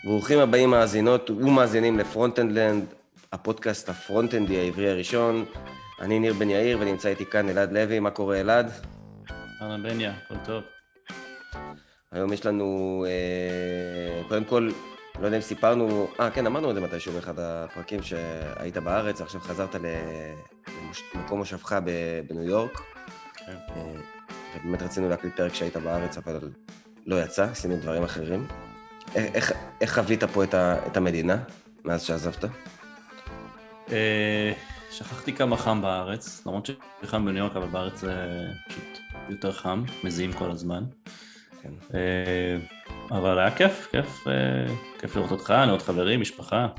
ברוכים הבאים מאזינות ומאזינים לפרונט-אנד-לנד, הפודקאסט הפרונט-אנדי העברי הראשון. אני ניר בן יאיר ונמצא איתי כאן אלעד לוי. מה קורה אלעד? אהלן בניה, הכל טוב. היום יש לנו, קודם כל, לא יודע אם סיפרנו, כן, אמרנו את זה מתישהו באחד הפרקים שהיית בארץ, עכשיו חזרת למקום מושבך בניו יורק. כן. ובאמת רצינו להקליט פרק שהיית בארץ, אבל לא יצא, עשינו דברים אחרים. איך חווית פה את המדינה מאז שעזבת? שכחתי כמה חם בארץ, למרות שחם בניו יורק, אבל בארץ זה פשוט יותר חם, מזיעים כל הזמן. כן. אבל היה כיף לראות אותך, לראות חברים, משפחה.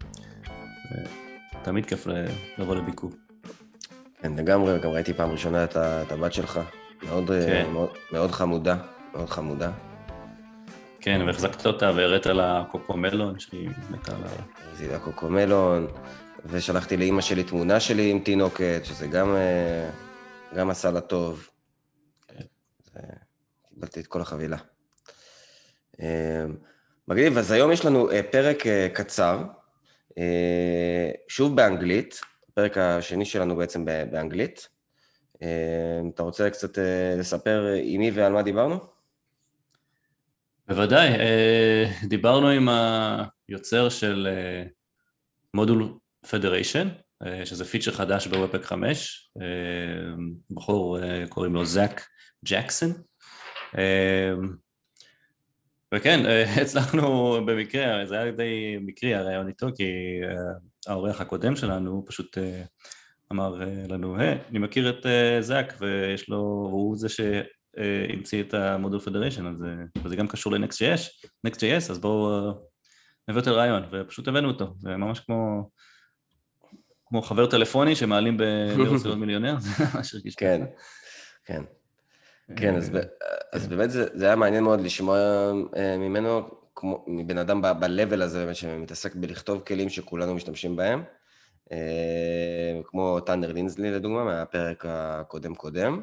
תמיד כיף לבוא לביקור. כן, לגמרי, גם ראיתי פעם ראשונה את הבת שלך, מאוד חמודה, מאוד חמודה. כן, והחזקת אותה והראית לה קוקומלון, שהיא מתה לה. זה היה קוקומלון, ושלחתי לאמא שלי תמונה שלי עם תינוקת, שזה גם עשה לה טוב. קיבלתי את כל החבילה. מגניב, אז היום יש לנו פרק קצר, שוב באנגלית, הפרק השני שלנו בעצם באנגלית. אתה רוצה קצת לספר עם מי ועל מה דיברנו? בוודאי, דיברנו עם היוצר של מודול פדריישן, שזה פיצ'ר חדש בוובפק 5, בחור קוראים לו זאק ג'קסון, וכן, הצלחנו במקרה, זה היה די מקרי הרעיון איתו, כי האורח הקודם שלנו פשוט אמר לנו, אני מכיר את זאק, והוא זה שהמציא את המודול פדריישן, אז זה גם קשור ל-Next.js, אז בואו נביא אותו לרעיון, ופשוט הבאנו אותו, זה ממש כמו חבר טלפוני שמעלים ברצינות מיליונר, זה ממש הרגיש ככה. כן, אז באמת זה היה מעניין מאוד לשמוע ממנו, מבן אדם ב-level הזה, שמתעסק בלכתוב כלים שכולנו משתמשים בהם, כמו טאנר לינזלי לדוגמה, מהפרק הקודם.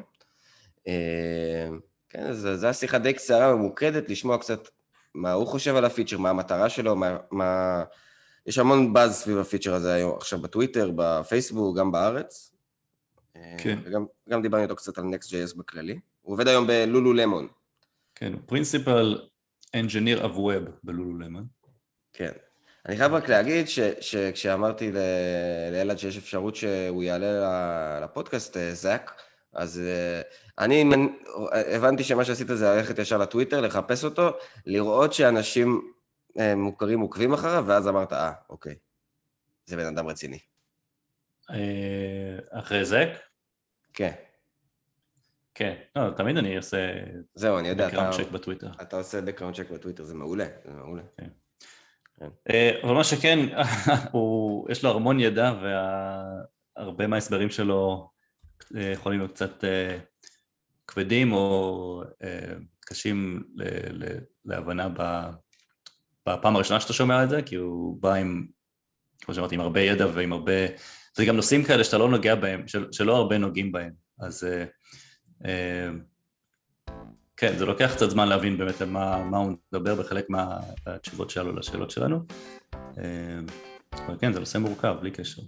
כן, זו השיחה די קצרה, ממוקדת, לשמוע קצת מה הוא חושב על הפיצ'ר, מה המטרה שלו, יש המון באז סביב הפיצ'ר הזה היום, עכשיו בטוויטר, בפייסבוק, גם בארץ. כן. וגם דיברנו איתו קצת על Next.js בכללי. הוא עובד היום בלולו למון. כן, הוא פרינסיפל engineer of web בלולו למון. כן. אני חייב רק להגיד שכשאמרתי לאלעד שיש אפשרות שהוא יעלה לפודקאסט, זאק, אז אני הבנתי שמה שעשית זה ללכת ישר לטוויטר, לחפש אותו, לראות שאנשים מוכרים עוקבים אחריו, ואז אמרת, אוקיי, זה בן אדם רציני. אחרי זאק? כן. כן, לא, תמיד אני עושה... זהו, אני יודע, background check בטוויטר. אתה עושה background check בטוויטר, זה מעולה, זה מעולה. כן. אבל מה שכן, יש לו המון ידע, והרבה מההסברים שלו יכולים להיות קצת כבדים או קשים להבנה בפעם הראשונה שאתה שומע את זה, כי הוא בא עם, כמו שאמרתי, עם הרבה ידע ועם הרבה... זה גם נושאים כאלה שאתה לא נוגע בהם, שלא הרבה נוגעים בהם, אז כן, זה לוקח קצת זמן להבין באמת על מה הוא מדבר בחלק מהתשובות שלו לשאלות שלנו, אבל כן, זה נושא מורכב, בלי קשר.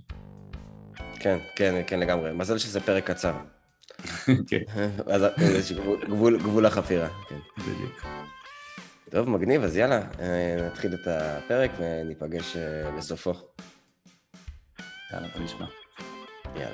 כן, לגמרי. מזל שזה פרק קצר. כן. אז יש גבול החפירה. בדיוק. טוב, מגניב, אז יאללה, נתחיל את הפרק וניפגש בסופו. יאללה, בוא נשמע. יאללה.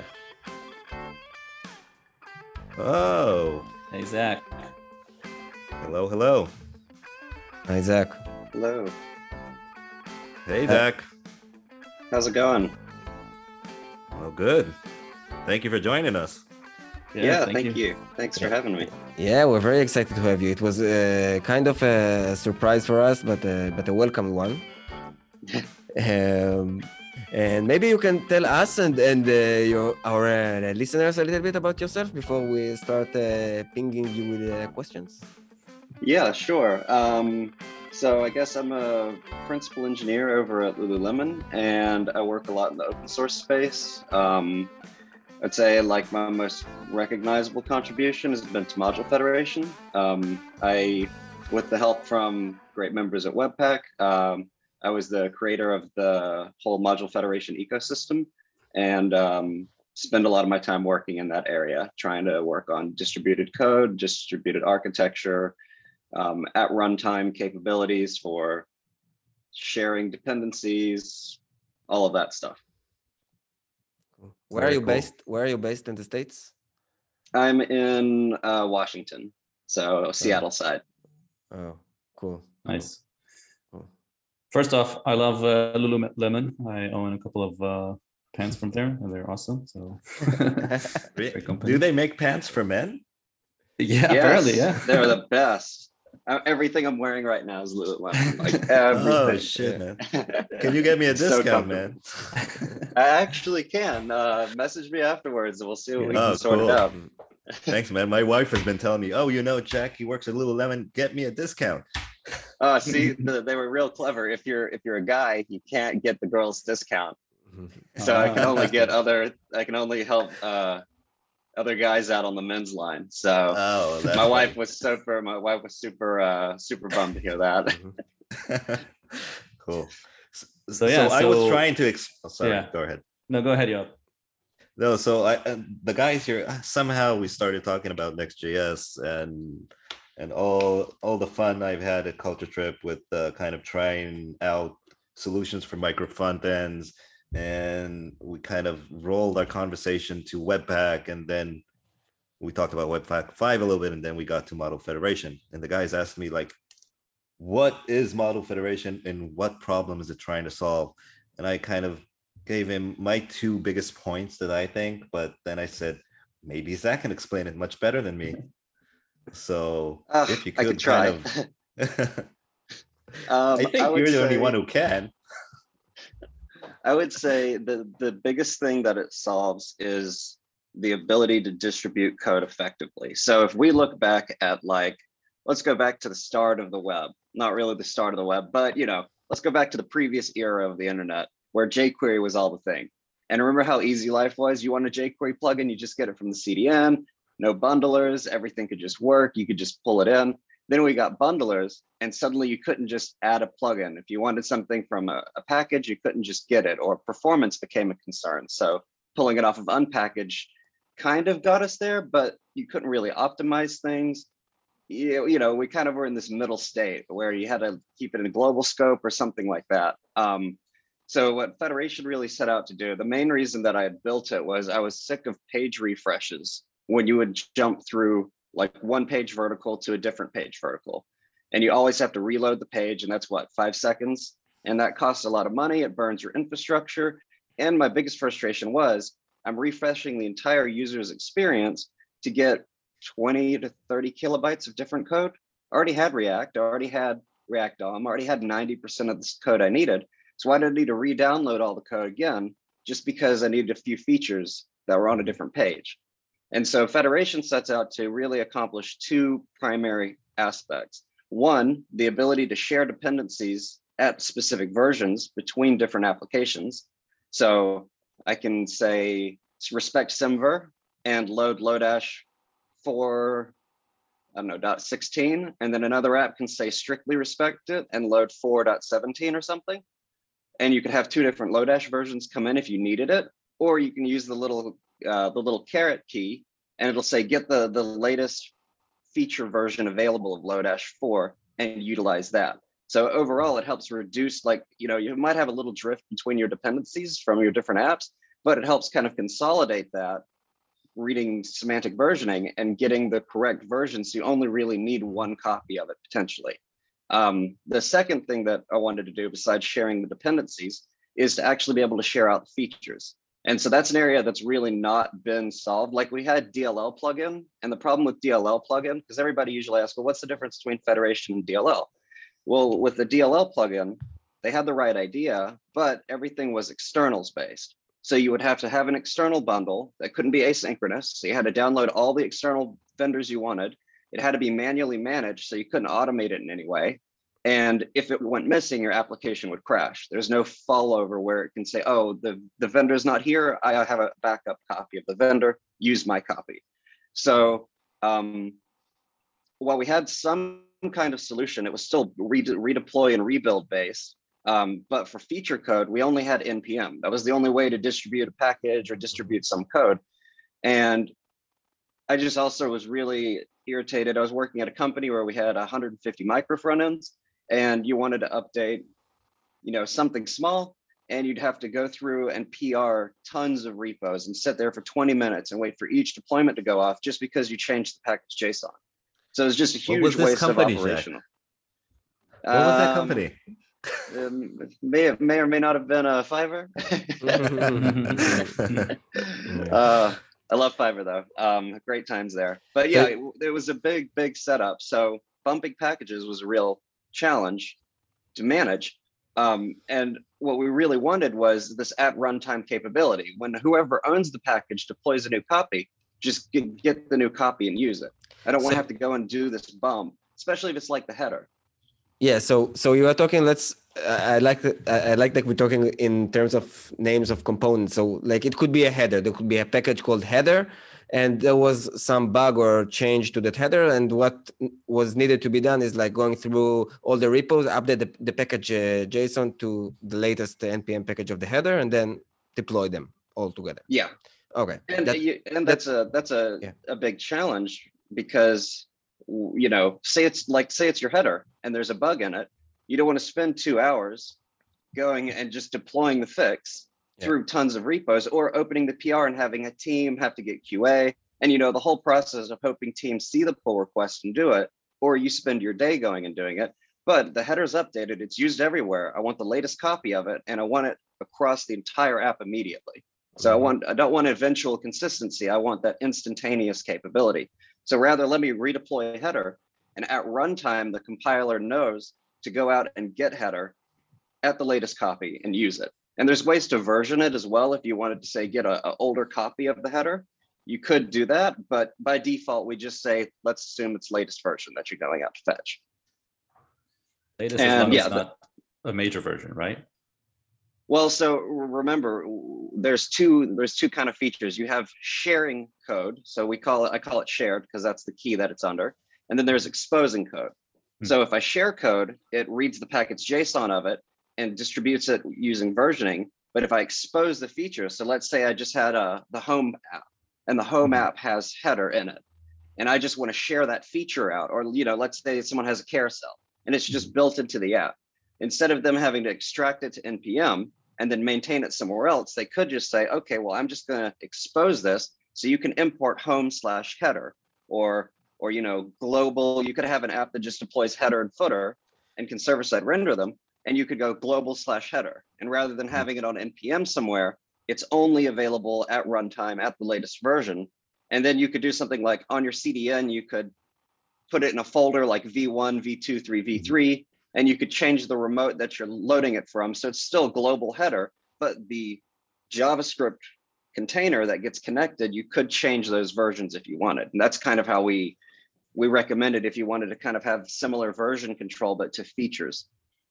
Oh. Hey, Zach. Hello. Hi, Zach. Hello. Hey, Zach. How's it going? Well, good. Thank you for joining us. Yeah, thank you. Thanks for having me. Yeah, we're very excited to have you. It was kind of a surprise for us, but a welcome one. And maybe you can tell us and our listeners a little bit about yourself before we start pinging you with questions. Yeah, sure. So I guess I'm a principal engineer over at Lululemon, and I work a lot in the open source space. I'd say like my most recognizable contribution has been to Module Federation. With the help from great members at Webpack, I was the creator of the whole Module Federation ecosystem, and spend a lot of my time working in that area, trying to work on distributed code, distributed architecture, at runtime capabilities for sharing dependencies, all of that stuff. Where Very are you cool. based? Where are you based in the States? I'm in Washington, so Seattle side. Oh, cool. Nice. Cool. First off, I love Lululemon. I own a couple of pants from there, and they're awesome. So, great company. Do they make pants for men? Yeah, Yes, apparently, yeah. they're the best. Everything I'm wearing right now is Lululemon. Like Oh everything. shit, man! Can you get me a So discount, man? I actually can. Message me afterwards and we'll see what we Oh, can sort cool. it out. Thanks, man. My wife has been telling me, "Oh, you know, Jack, he works at Lululemon. Get me a discount." See, they were real clever. If you're a guy, you can't get the girls discount. So I can only get I can only help other guys out on the men's line. So Oh, that's my wife was super super bummed to hear that. Cool. So, yeah, I was so- trying to. Sorry, Yeah. go ahead. No, go ahead, Yob. No, so the guys here somehow we started talking about Next.js and all the fun I've had at Culture Trip with kind of trying out solutions for micro front ends, and we kind of rolled our conversation to Webpack, and then we talked about Webpack 5 a little bit, and then we got to Model Federation. And the guys asked me like, what is Model Federation and what problem is it trying to solve? And I kind of gave him my two biggest points that I think, but then I said, maybe Zach can explain it much better than me. So if you I could could try. kind of, I think would you're the only say- one who can. I would say the biggest thing that it solves is the ability to distribute code effectively. So if we look back at let's go back to the start of the web, not really the start of the web, but let's go back to the previous era of the internet where jQuery was all the thing. And remember how easy life was? You want a jQuery plugin, you just get it from the CDN, no bundlers, everything could just work. You could just pull it in. Then we got bundlers, and suddenly you couldn't just add a plugin. If you wanted something from a package, you couldn't just get it, or performance became a concern. So pulling it off of Unpackage kind of got us there, but you couldn't really optimize things. We kind of were in this middle state where you had to keep it in a global scope or something like that. So what Federation really set out to do, the main reason that I had built it was I was sick of page refreshes when you would jump through like one page vertical to a different page vertical. And you always have to reload the page, and that's what, 5 seconds? And that costs a lot of money, it burns your infrastructure. And my biggest frustration was I'm refreshing the entire user's experience to get 20 to 30 kilobytes of different code. I already had React, I already had React DOM, I already had 90% of this code I needed. So why did I need to re-download all the code again, just because I needed a few features that were on a different page? And so Federation sets out to really accomplish 2 primary aspects. One, the ability to share dependencies at specific versions between different applications. So I can say respect Semver and load Lodash for, I don't know, .16, and then another app can say strictly respect it and load 4.17 or something. And you could have 2 different Lodash versions come in if you needed it, or you can use the little caret key, and it'll say get the latest feature version available of Lodash 4 and utilize that. So overall, it helps reduce, you might have a little drift between your dependencies from your different apps, but it helps kind of consolidate that, reading semantic versioning and getting the correct version. So you only really need one copy of it potentially. The second thing that I wanted to do besides sharing the dependencies is to actually be able to share out the features. And so that's an area that's really not been solved. Like we had DLL plugin, and the problem with DLL plugin, because everybody usually asks, well, what's the difference between Federation and DLL? Well, with the DLL plugin, they had the right idea, but everything was externals based. So you would have to have an external bundle that couldn't be asynchronous. So you had to download all the external vendors you wanted. It had to be manually managed, so you couldn't automate it in any way. And if it went missing, your application would crash. There's no fallover where it can say, oh, the vendor's not here. I have a backup copy of the vendor, use my copy. So while we had some kind of solution, it was still redeploy and rebuild based. But for feature code, we only had NPM. That was the only way to distribute a package or distribute some code. And I just also was really irritated. I was working at a company where we had 150 micro front ends, and you wanted to update, something small, and you'd have to go through and PR tons of repos and sit there for 20 minutes and wait for each deployment to go off just because you changed the package JSON. So it was just a huge waste of operational. What was that company? May or may not have been a Fiverr. I love Fiverr though. Great times there. But yeah, it was a big setup. So bumping packages was a real challenge to manage. And what we really wanted was this at runtime capability. When whoever owns the package deploys a new copy, just get the new copy and use it. I don't want to have to go and do this bump, especially if it's like the header. Yeah, so you are talking. I like that we're talking in terms of names of components. So like it could be a header. There could be a package called header, and there was some bug or change to that header. And what was needed to be done is like going through all the repos, update the package JSON to the latest NPM package of the header, and then deploy them all together. Yeah. Okay. And that's a big challenge because say it's your header and there's a bug in it. You don't want to spend 2 hours going and just deploying the fix through tons of repos, or opening the PR and having a team have to get QA and the whole process of hoping teams see the pull request and do it, or you spend your day going and doing it. But the header's updated, it's used everywhere. I want the latest copy of it and I want it across the entire app immediately. So I don't want eventual consistency. I want that instantaneous capability. So rather, let me redeploy a header, and at runtime, the compiler knows to go out and get header at the latest copy and use it. And there's ways to version it as well. If you wanted to say, get an older copy of the header, you could do that. But by default, we just say, let's assume it's latest version that you're going out to fetch. Latest is not a major version, right? Well, so remember, there's two kind of features. You have sharing code. So I call it shared because that's the key that it's under. And then there's exposing code. So if I share code, it reads the package JSON of it and distributes it using versioning. But if I expose the feature, so let's say I just had the home app, and the home app has header in it, and I just want to share that feature out, or let's say someone has a carousel and it's just built into the app. Instead of them having to extract it to NPM and then maintain it somewhere else, they could just say, okay, well, I'm just going to expose this so you can import home/header, or global. You could have an app that just deploys header and footer and can server-side render them, and you could go global/header. And rather than having it on NPM somewhere, it's only available at runtime at the latest version. And then you could do something like on your CDN, you could put it in a folder like V1, V2, 3, V3, and you could change the remote that you're loading it from. So it's still global header, but the JavaScript container that gets connected, you could change those versions if you wanted. And that's kind of how we recommend it if you wanted to kind of have similar version control, but to features.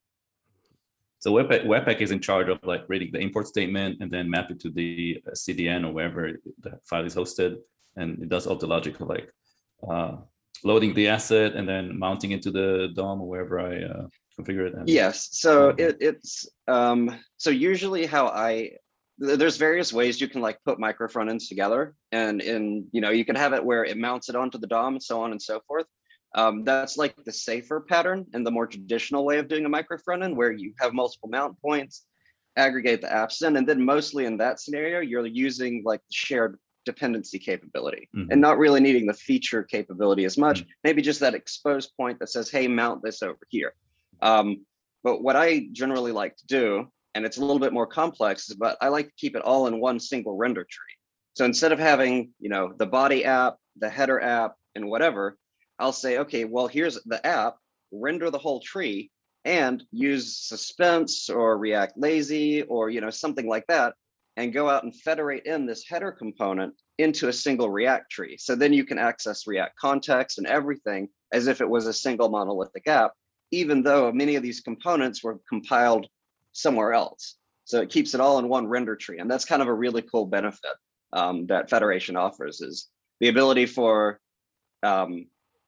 So Webpack is in charge of like reading the import statement and then map it to the CDN or wherever the file is hosted. And it does all the logic of like loading the asset and then mounting it to the DOM or wherever I configure it. Yes, so it's so usually there's various ways you can like put micro front ends together, and you can have it where it mounts it onto the DOM and so on and so forth. That's like the safer pattern and the more traditional way of doing a micro front end, where you have multiple mount points, aggregate the apps in, and then mostly in that scenario, you're using like the shared dependency capability and not really needing the feature capability as much. Maybe just that exposed point that says, hey, mount this over here. But what I generally like to do, and it's a little bit more complex, but I like to keep it all in one single render tree. So instead of having, the body app, the header app, and whatever, I'll say, okay, well, here's the app, render the whole tree, and use Suspense or React Lazy or, something like that, and go out and federate in this header component into a single React tree. So then you can access React context and everything as if it was a single monolithic app, even though many of these components were compiled somewhere else. So it keeps it all in one render tree. And that's kind of a really cool benefit that Federation offers, is the ability for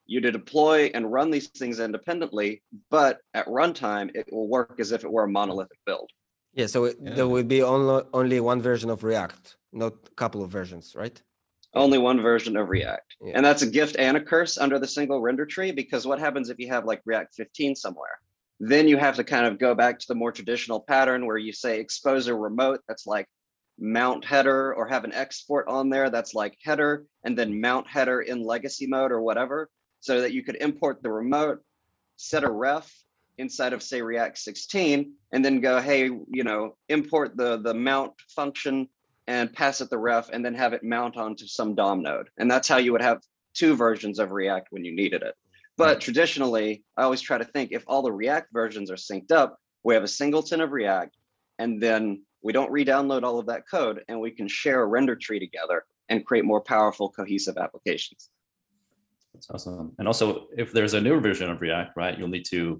you to deploy and run these things independently, but at runtime, it will work as if it were a monolithic build. Yeah, so there will be only one version of React, not a couple of versions, right? Only one version of React. Yeah. And that's a gift and a curse under the single render tree, because what happens if you have like React 15 somewhere? Then you have to kind of go back to the more traditional pattern where you say expose a remote that's like mount header, or have an export on there that's like header, and then mount header in legacy mode or whatever, so that you could import the remote, set a ref inside of say React 16, and then go, hey, you know, import the mount function and pass it the ref, and then have it mount onto some DOM node. And that's how you would have two versions of React when you needed it. But traditionally, I always try to think, if all the React versions are synced up, we have a singleton of React, and then we don't re-download all of that code, and we can share a render tree together and create more powerful, cohesive applications. That's awesome. And also, if there's a newer version of React, right, you'll need to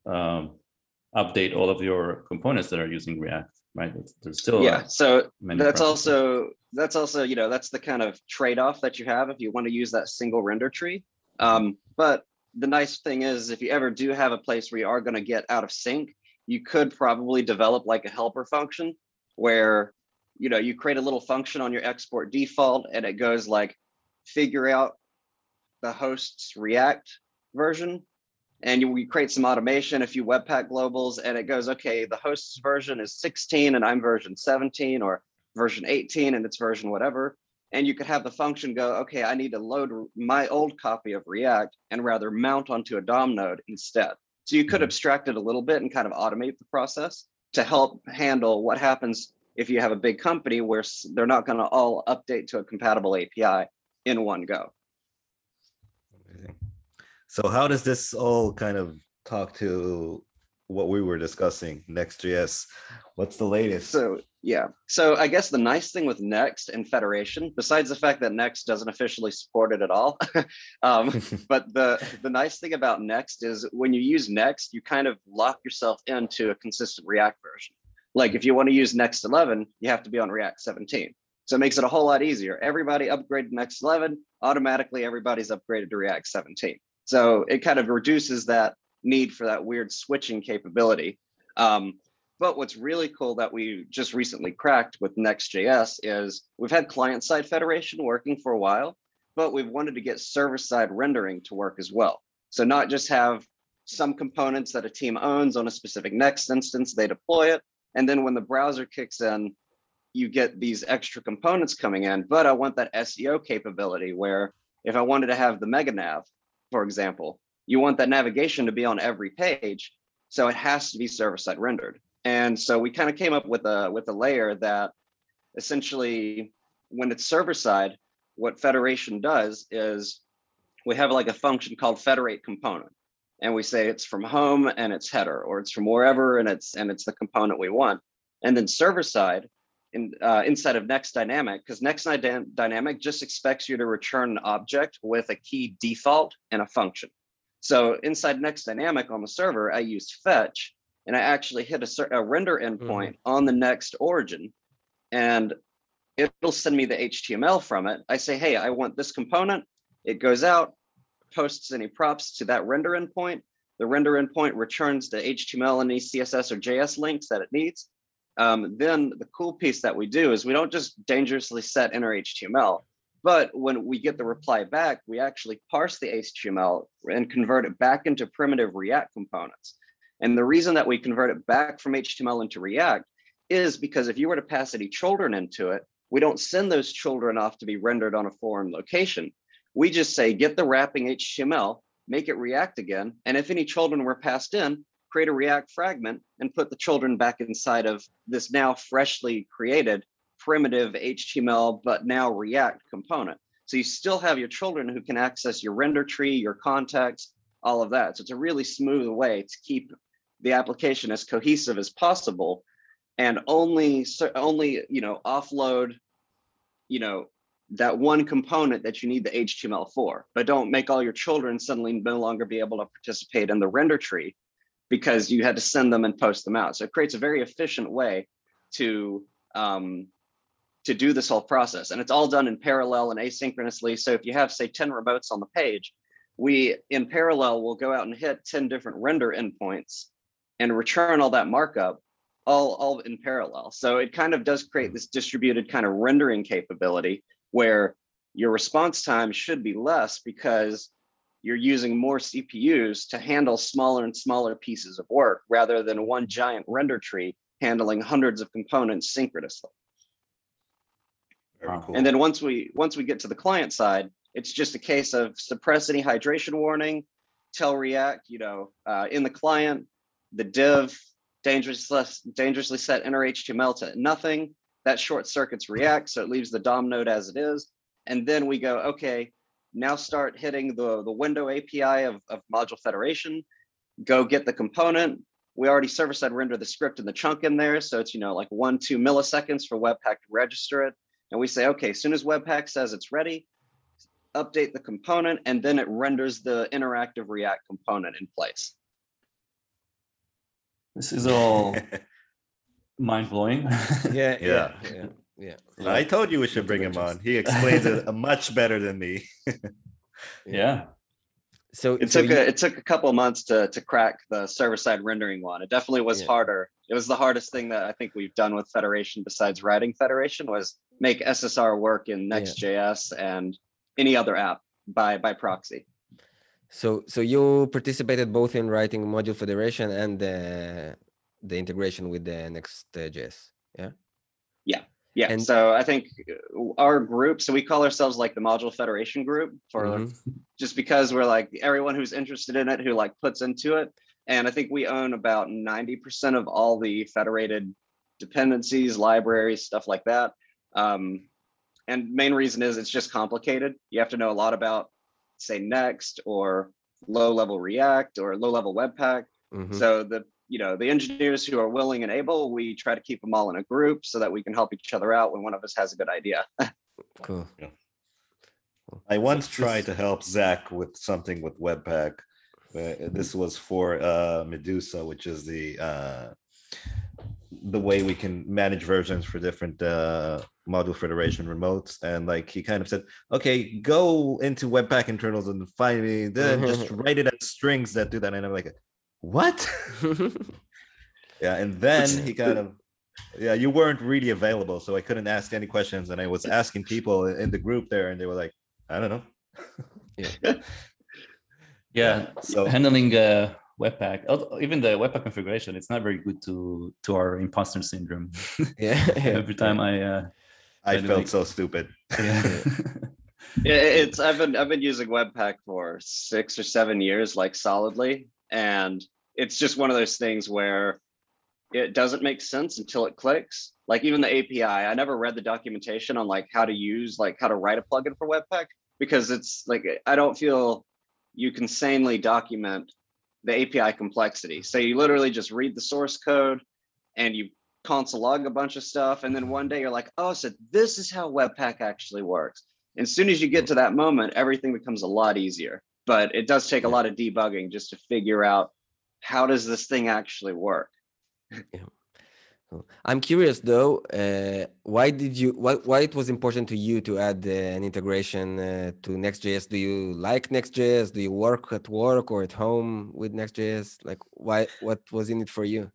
update all of your components that are using React, right? There's still so that's also you know, that's the kind of trade-off that you have if you want to use that single render tree. But the nice thing is, if you ever do have a place where you are going to get out of sync, you could probably develop like a helper function where, you know, you create a little function on your export default, and it goes like, figure out the host's React version, and we create some automation, a few Webpack globals, and it goes, okay, the host's version is 16 and I'm version 17, or version 18 and it's version whatever. And you could have the function go, okay, I need to load my old copy of React and rather mount onto a DOM node instead. So you could abstract it a little bit and kind of automate the process to help handle what happens if you have a big company where they're not going to all update to a compatible API in one go. Amazing. So how does this all kind of talk to what we were discussing, Next.js? What's the latest? So yeah, so I guess the nice thing with Next and Federation, besides the fact that Next doesn't officially support it at all, but the nice thing about Next is when you use Next, you kind of lock yourself into a consistent React version. Like if you want to use Next 11, you have to be on React 17. So it makes it a whole lot easier. Everybody upgraded to Next 11, automatically everybody's upgraded to React 17. So it kind of reduces that need for that weird switching capability. But what's really cool that we just recently cracked with Next.js is we've had client-side federation working for a while, but we've wanted to get server-side rendering to work as well. So not just have some components that a team owns on a specific Next instance, they deploy it, and then when the browser kicks in, you get these extra components coming in, but I want that SEO capability where if I wanted to have the mega nav, for example, you want that navigation to be on every page, so it has to be server-side rendered. And so we kind of came up with a layer that essentially, when it's server-side, what Federation does is we have like a function called federate component, and we say it's from home and it's header, or it's from wherever and it's the component we want. And then server-side, inside of Next Dynamic, because Next Dynamic just expects you to return an object with a key default and a function. So inside Next Dynamic on the server, I used fetch, and I actually hit a render endpoint on the Next origin, and it'll send me the HTML from it. I say, hey, I want this component. It goes out, posts any props to that render endpoint. The render endpoint returns the HTML and any CSS or JS links that it needs. Then the cool piece that we do is we don't just dangerously set inner HTML, but when we get the reply back, we actually parse the HTML and convert it back into primitive React components. And the reason that we convert it back from HTML into React is because if you were to pass any children into it, we don't send those children off to be rendered on a foreign location. We just say, get the wrapping HTML, make it React again. And if any children were passed in, create a React fragment and put the children back inside of this now freshly created primitive HTML, but now React component. So you still have your children who can access your render tree, your context, all of that. So it's a really smooth way to keep the application as cohesive as possible, and only offload, that one component that you need the HTML for, but don't make all your children suddenly no longer be able to participate in the render tree because you had to send them and post them out. So it creates a very efficient way to do this whole process. And it's all done in parallel and asynchronously. So if you have, say, 10 remotes on the page, we in parallel will go out and hit 10 different render endpoints and return all that markup all in parallel. So it kind of does create this distributed kind of rendering capability where your response time should be less because you're using more CPUs to handle smaller and smaller pieces of work rather than one giant render tree handling hundreds of components synchronously. Very cool. And then once we get to the client side, it's just a case of suppress any hydration warning, tell React, in the client, the div dangerously set inner HTML to nothing. That short circuits React, so it leaves the DOM node as it is. And then we go, okay, now start hitting the window API of module federation, go get the component. We already server-side render the script and the chunk in there. So it's, like 1-2 milliseconds for Webpack to register it. And we say, okay, as soon as Webpack says it's ready, update the component, and then it renders the interactive React component in place. This is all mind-blowing. Yeah. I told you we should bring him on. He explains it much better than me. Yeah. So it took a couple of months to crack the server-side rendering one. It definitely was harder. It was the hardest thing that I think we've done with Federation besides writing Federation was make SSR work in Next.js and any other app by proxy. So you participated both in writing module federation and the integration with the Next.js, yeah? Yeah. And so I think our group, so we call ourselves like the Module Federation group for just because we're like everyone who's interested in it, who like puts into it. And I think we own about 90% of all the federated dependencies, libraries, stuff like that. And main reason is it's just complicated. You have to know a lot about, say, Next or low-level React or low-level Webpack. So the engineers who are willing and able, we try to keep them all in a group so that we can help each other out when one of us has a good idea. Cool. Yeah. I once tried to help Zach with something with Webpack. This was for Medusa, which is the way we can manage versions for different module federation remotes. And like he kind of said, okay, go into Webpack internals and find me, then just write it as strings that do that. And I'm like, what? Yeah, and then he kind of, you weren't really available, so I couldn't ask any questions, and I was asking people in the group there, and they were like, I don't know. So handling Webpack, even the Webpack configuration, it's not very good to our imposter syndrome. Every time I felt so stupid. I've been using Webpack for 6 or 7 years, like solidly, and it's just one of those things where it doesn't make sense until it clicks. Like even the API, I never read the documentation on like how to write a plugin for Webpack, because it's like, I don't feel you can sanely document the API complexity. So you literally just read the source code and you console log a bunch of stuff. And then one day you're like, oh, so this is how Webpack actually works. And as soon as you get to that moment, everything becomes a lot easier. But it does take a lot of debugging just to figure out how does this thing actually work. I'm curious though, why it was important to you to add an integration to Next.js? Do you like Next.js? Do you work at work or at home with Next.js? Like what was in it for you?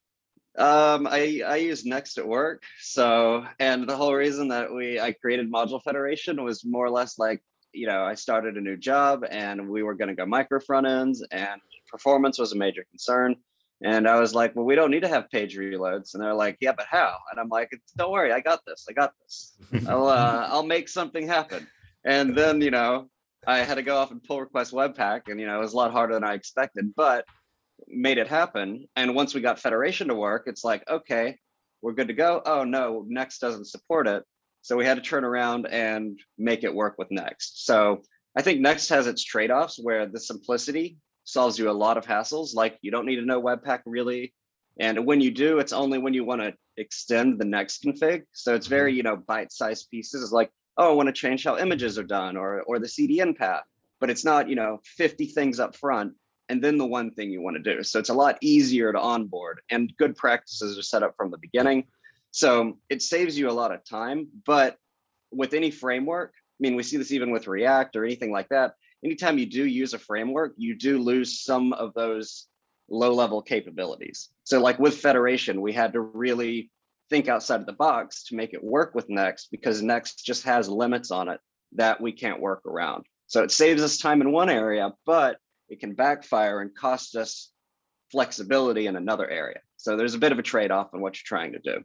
I use Next at work. So, and the whole reason that I created Module Federation was more or less like, I started a new job and we were going to go micro front ends, and performance was a major concern. And I was like, well, we don't need to have page reloads. And they're like, yeah, but how? And I'm like, don't worry, I got this. I'll make something happen. And then, I had to go off and pull request Webpack, and, it was a lot harder than I expected, but made it happen. And once we got Federation to work, it's like, okay, we're good to go. Oh no, Next doesn't support it. So we had to turn around and make it work with Next. So I think Next has its trade-offs where the simplicity solves you a lot of hassles. Like you don't need to know Webpack really. And when you do, it's only when you want to extend the Next config. So it's very, bite-sized pieces. It's like, oh, I want to change how images are done or the CDN path, but it's not, 50 things up front and then the one thing you want to do. So it's a lot easier to onboard, and good practices are set up from the beginning. So it saves you a lot of time, but with any framework, I mean, we see this even with React or anything like that, anytime you do use a framework, you do lose some of those low-level capabilities. So like with Federation, we had to really think outside of the box to make it work with Next, because Next just has limits on it that we can't work around. So it saves us time in one area, but it can backfire and cost us flexibility in another area. So there's a bit of a trade-off in what you're trying to do.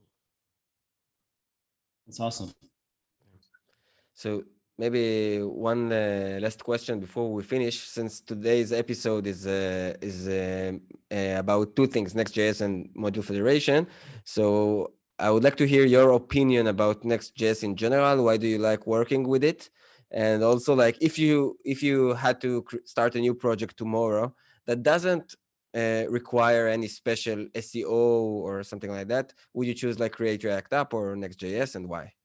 That's awesome. So maybe one last question before we finish, since today's episode is about two things, Next.js and Module Federation. So I would like to hear your opinion about Next.js in general. Why do you like working with it? And also, like, if you had to start a new project tomorrow that doesn't require any special SEO or something like that, would you choose like Create React App or Next.js, and why?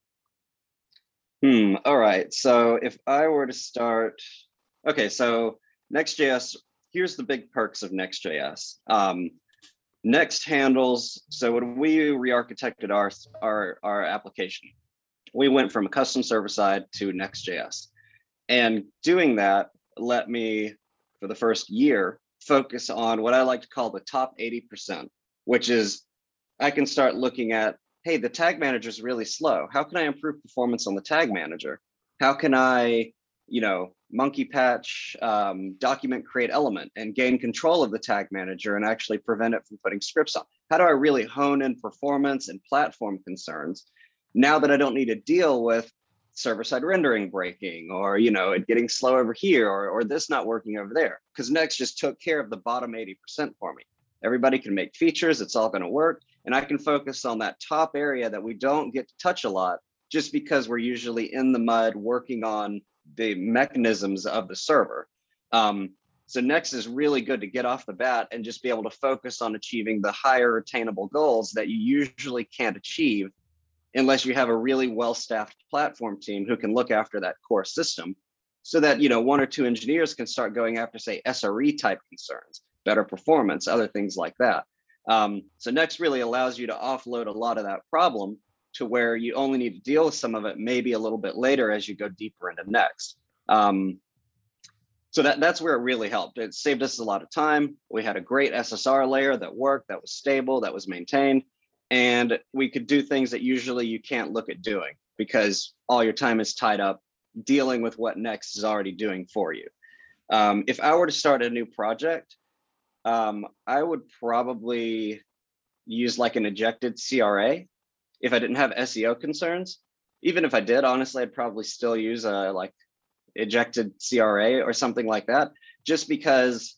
All right. So if I were to start, okay, so Next.js, here's the big perks of Next.js. Next handles, so when we re-architected our application, we went from a custom server side to Next.js. And doing that let me, for the first year, focus on what I like to call the top 80%, which is I can start looking at, hey, the tag manager is really slow. How can I improve performance on the tag manager? How can I, monkey patch, document create element and gain control of the tag manager and actually prevent it from putting scripts on? How do I really hone in performance and platform concerns now that I don't need to deal with server-side rendering breaking or, it getting slow over here or this not working over there? Because Next just took care of the bottom 80% for me. Everybody can make features, it's all going to work. And I can focus on that top area that we don't get to touch a lot just because we're usually in the mud working on the mechanisms of the server. So Next is really good to get off the bat and just be able to focus on achieving the higher attainable goals that you usually can't achieve unless you have a really well-staffed platform team who can look after that core system so that, one or two engineers can start going after, say, SRE type concerns, better performance, other things like that. So Next really allows you to offload a lot of that problem to where you only need to deal with some of it maybe a little bit later as you go deeper into Next. So that's where it really helped. It saved us a lot of time. We had a great SSR layer that worked, that was stable, that was maintained, and we could do things that usually you can't look at doing because all your time is tied up dealing with what Next is already doing for you. If I were to start a new project, I would probably use like an ejected CRA if I didn't have SEO concerns. Even if I did, honestly, I'd probably still use a like ejected CRA or something like that, just because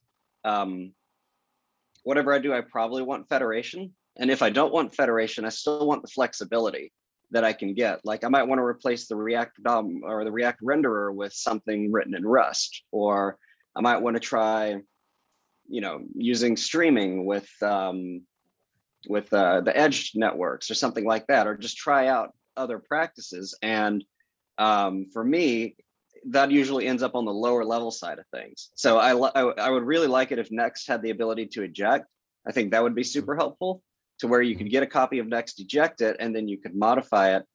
whatever I do, I probably want federation. And if I don't want federation, I still want the flexibility that I can get. Like I might want to replace the React DOM or the React renderer with something written in Rust, or I might want to try, using streaming with the edge networks or something like that, or just try out other practices. And for me, that usually ends up on the lower level side of things. So I would really like it if Next had the ability to eject. I think that would be super helpful, to where you could get a copy of Next, eject it, and then you could modify it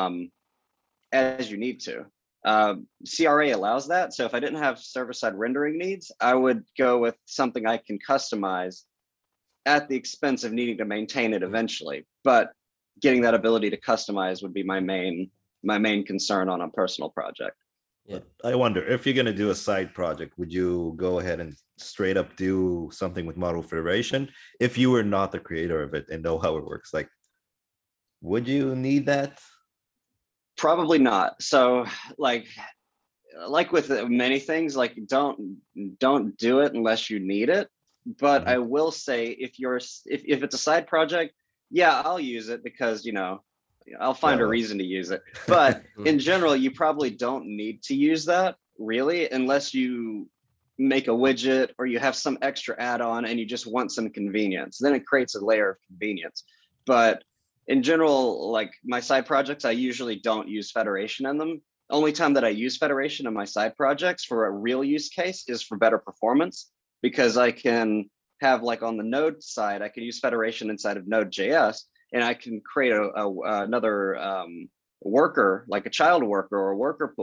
as you need to. CRA allows that. So if I didn't have server-side rendering needs, I would go with something I can customize at the expense of needing to maintain it eventually. But getting that ability to customize would be my main concern on a personal project. Yeah. I wonder if you're going to do a side project, would you go ahead and straight up do something with Module Federation if you were not the creator of it and know how it works? Like, would you need that? Probably not. So like with many things, like don't do it unless you need it. But I will say if it's a side project, yeah, I'll use it because, I'll find a reason to use it. But in general, you probably don't need to use that really, unless you make a widget or you have some extra add-on and you just want some convenience. Then it creates a layer of convenience. But in general, like my side projects, I usually don't use federation in them. Only time that I use federation in my side projects for a real use case is for better performance, because I can have, like on the Node side, I can use federation inside of Node.js, and I can create another worker, like a child worker or a worker pool,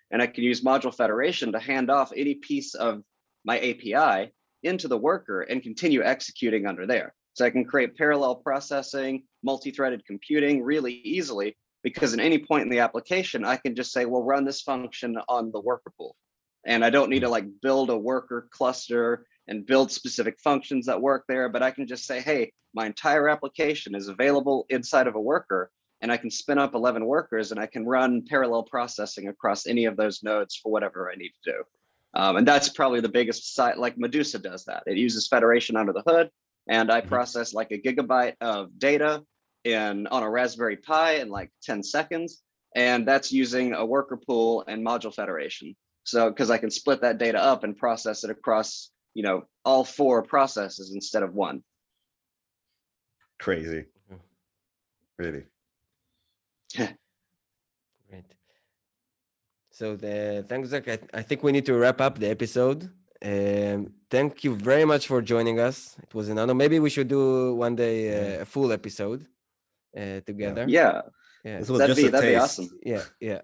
and I can use module federation to hand off any piece of my API into the worker and continue executing under there. So I can create parallel processing, multi-threaded computing really easily, because at any point in the application, I can just say, well, run this function on the worker pool. And I don't need to like build a worker cluster and build specific functions that work there, but I can just say, hey, my entire application is available inside of a worker, and I can spin up 11 workers and I can run parallel processing across any of those nodes for whatever I need to do. And that's probably the biggest site, like Medusa does that. It uses federation under the hood, and I process like a gigabyte of data on a Raspberry Pi in like 10 seconds. And that's using a worker pool and module federation. So, because I can split that data up and process it across, all 4 processes instead of 1. Crazy. Really. Great. So thanks, Zach. I think we need to wrap up the episode. Thank you very much for joining us. It was an honor. Maybe we should do one day a full episode together. Yeah. This was that'd be awesome. Yeah.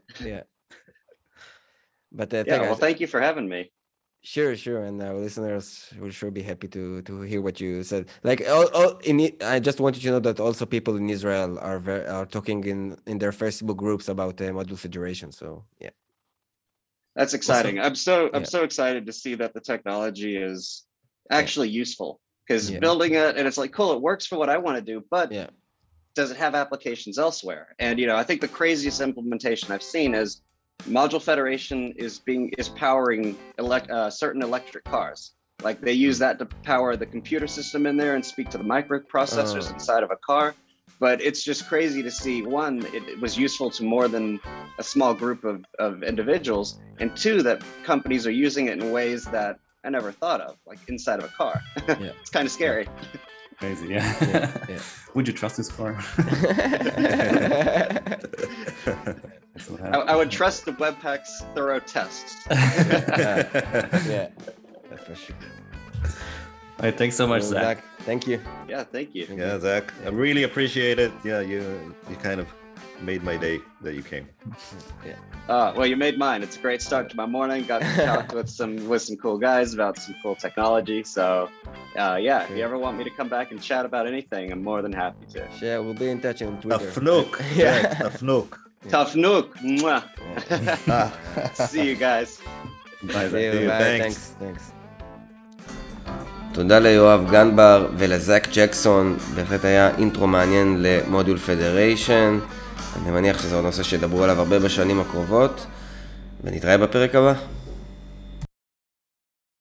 But thank you for having me. Sure, and our listeners will sure be happy to hear what you said. Like, I just wanted to know that also people in Israel are talking in their Facebook groups about module federation. So yeah, that's exciting. Also, I'm so excited to see that the technology is actually useful, because building it and it's like, cool, it works for what I want to do, but does it have applications elsewhere? And I think the craziest implementation I've seen is module federation is powering certain electric cars. Like they use that to power the computer system in there and speak to the microprocessors inside of a car. But it's just crazy to see, one, it was useful to more than a small group of individuals, and 2, that companies are using it in ways that I never thought of, like inside of a car. It's kind of scary. Crazy, yeah. Would you trust this car? I would trust the Webpack's thorough tests. Yeah, that's for sure. All right, thanks so much, Zach. Thank you. Yeah, thank you. Yeah, Zach, I really appreciate it. Yeah, you kind of made my day that you came. Well, you made mine. It's a great start to my morning. Got to talk with some cool guys about some cool technology. So, if you ever want me to come back and chat about anything, I'm more than happy to. Yeah, we'll be in touch on Twitter. Tafnook. Tafnook. Tafnook. See you guys. Bye. Thanks. תודה ליואב גנבר ולזק ג'קסון, בהחלט היה אינטרו מעניין למודול פדריישן. אני מניח שזה נושא שידברו עליו הרבה בשנים הקרובות, ונתראה בפרק הבא.